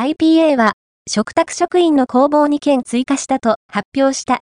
IPA は、嘱託職員の公募を2件追加したと発表した。